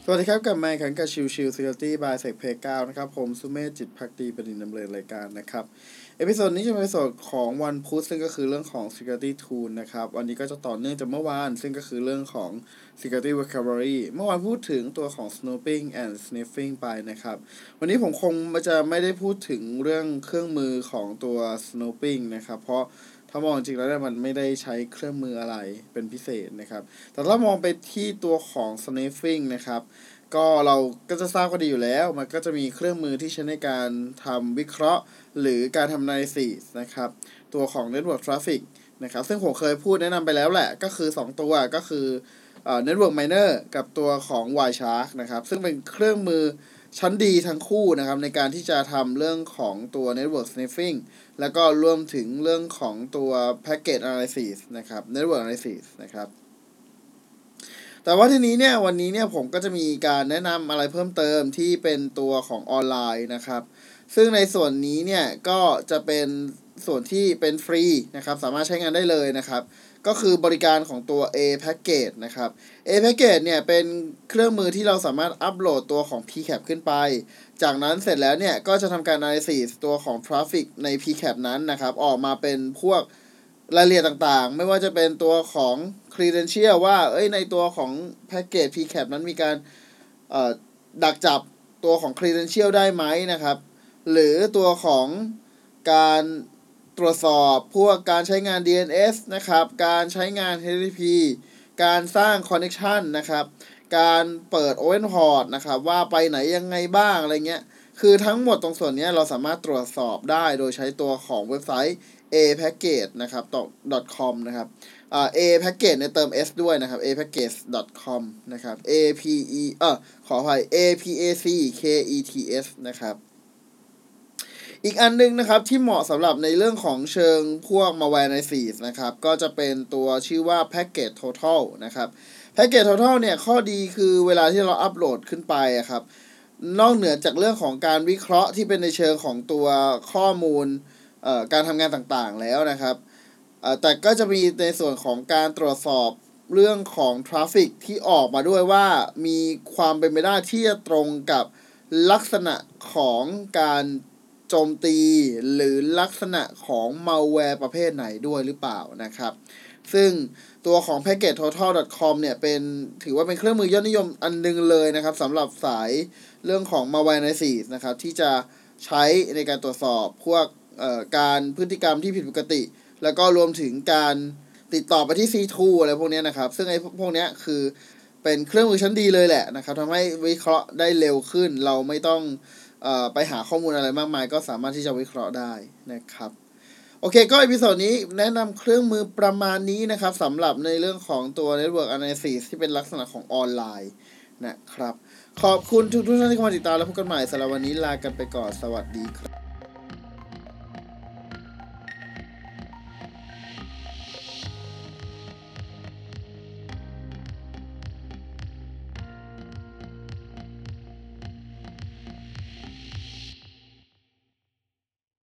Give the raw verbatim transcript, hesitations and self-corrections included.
สวัสดีครับกลับมาอีกครั้งกับชิวชิว Security by Sec Play เก้านะครับผมสุเมธจิตภักดีประดิษฐ์ดำเนินรายการนะครับเอพิโซดนี้จะเป็นเอพิโซดของวันพุธซึ่งก็คือเรื่องของ Security Tool นะครับวันนี้ก็จะต่อเนื่องจากเมื่อวานซึ่งก็คือเรื่องของ Security Recovery เมื่อวานพูดถึงตัวของ Snooping and Sniffing ไปนะครับวันนี้ผมคงจะไม่ได้พูดถึงเรื่องเครื่องมือของตัว Snooping นะครับเพราะถ้ามองจริงแล้วมันไม่ได้ใช้เครื่องมืออะไรเป็นพิเศษนะครับแต่ถ้ามองไปที่ตัวของ sniffing นะครับก็เราก็จะทราบกันดีอยู่แล้วมันก็จะมีเครื่องมือที่ใช้ในการทำวิเคราะห์หรือการทำ analysis นะครับตัวของ network traffic นะครับซึ่งผมเคยพูดแนะนำไปแล้วแหละก็คือสองตัวก็คือเอ่อ network miner กับตัวของ Wireshark นะครับซึ่งเป็นเครื่องมือชั้นดีทั้งคู่นะครับในการที่จะทำเรื่องของตัว network sniffing แล้วก็รวมถึงเรื่องของตัว packet analysis นะครับ network analysis นะครับแต่ว่าทีนี้เนี่ยวันนี้เนี่ยผมก็จะมีการแนะนำอะไรเพิ่มเติมที่เป็นตัวของออนไลน์นะครับซึ่งในส่วนนี้เนี่ยก็จะเป็นส่วนที่เป็นฟรีนะครับสามารถใช้งานได้เลยนะครับก็คือบริการของตัว A Package นะครับ A Package เนี่ยเป็นเครื่องมือที่เราสามารถอัปโหลดตัวของ พี แคป ขึ้นไปจากนั้นเสร็จแล้วเนี่ยก็จะทำการ analysis ตัวของ traffic ใน พี แคป นั้นนะครับออกมาเป็นพวกรายละเอียดต่างๆไม่ว่าจะเป็นตัวของ credential ว่าเอ้ยในตัวของ package พี แคป นั้นมีการเอ่อดักจับตัวของ credential ได้ไหมนะครับหรือตัวของการตรวจสอบพวกการใช้งาน ดี เอ็น เอส นะครับการใช้งาน เอช ที ที พี การสร้าง connection นะครับการเปิด open port นะครับว่าไปไหนยังไงบ้างอะไรเงี้ยคือทั้งหมดตรงส่วนนี้เราสามารถตรวจสอบได้โดยใช้ตัวของเว็บไซต์ a package นะครับ .com นะครับอ่า a package เนี่ยเติม s ด้วยนะครับ a package .com นะครับ a p e เอ่อขออภัย a p a c k e t s นะครับอีกอันนึงนะครับที่เหมาะสำหรับในเรื่องของเชิงพวก malware analysis นะครับก็จะเป็นตัวชื่อว่า package total นะครับ package total เนี่ยข้อดีคือเวลาที่เราอัปโหลดขึ้นไปครับนอกเหนือจากเรื่องของการวิเคราะห์ที่เป็นในเชิงของตัวข้อมูลเอ่อการทำงานต่างๆแล้วนะครับเอ่อแต่ก็จะมีในส่วนของการตรวจสอบเรื่องของทราฟฟิกที่ออกมาด้วยว่ามีความเป็นไปได้ที่จะตรงกับลักษณะของการโจมตีหรือลักษณะของ malware ประเภทไหนด้วยหรือเปล่านะครับซึ่งตัวของ package total .com เนี่ยเป็นถือว่าเป็นเครื่องมือยอดนิยมอันนึงเลยนะครับสำหรับสายเรื่องของ malware analysis นะครับที่จะใช้ในการตรวจสอบพวกเอ่อการพฤติกรรมที่ผิดปกติแล้วก็รวมถึงการติดต่อไปที่ ซี ทู อะไรพวกนี้นะครับซึ่งไอ้พวกนี้คือเป็นเครื่องมือชั้นดีเลยแหละนะครับทำให้วิเคราะห์ได้เร็วขึ้นเราไม่ต้องเอ่อไปหาข้อมูลอะไรมากมายก็สามารถที่จะวิเคราะห์ได้นะครับโอเคก็อีพิโซดนี้แนะนำเครื่องมือประมาณนี้นะครับสำหรับในเรื่องของตัว Network Analysis ที่เป็นลักษณะของออนไลน์นะครับขอบคุณทุกท่านที่เข้ามาติดตามและพบกันใหม่สำหรับวันนี้ลากันไปก่อนสวัสดีครับ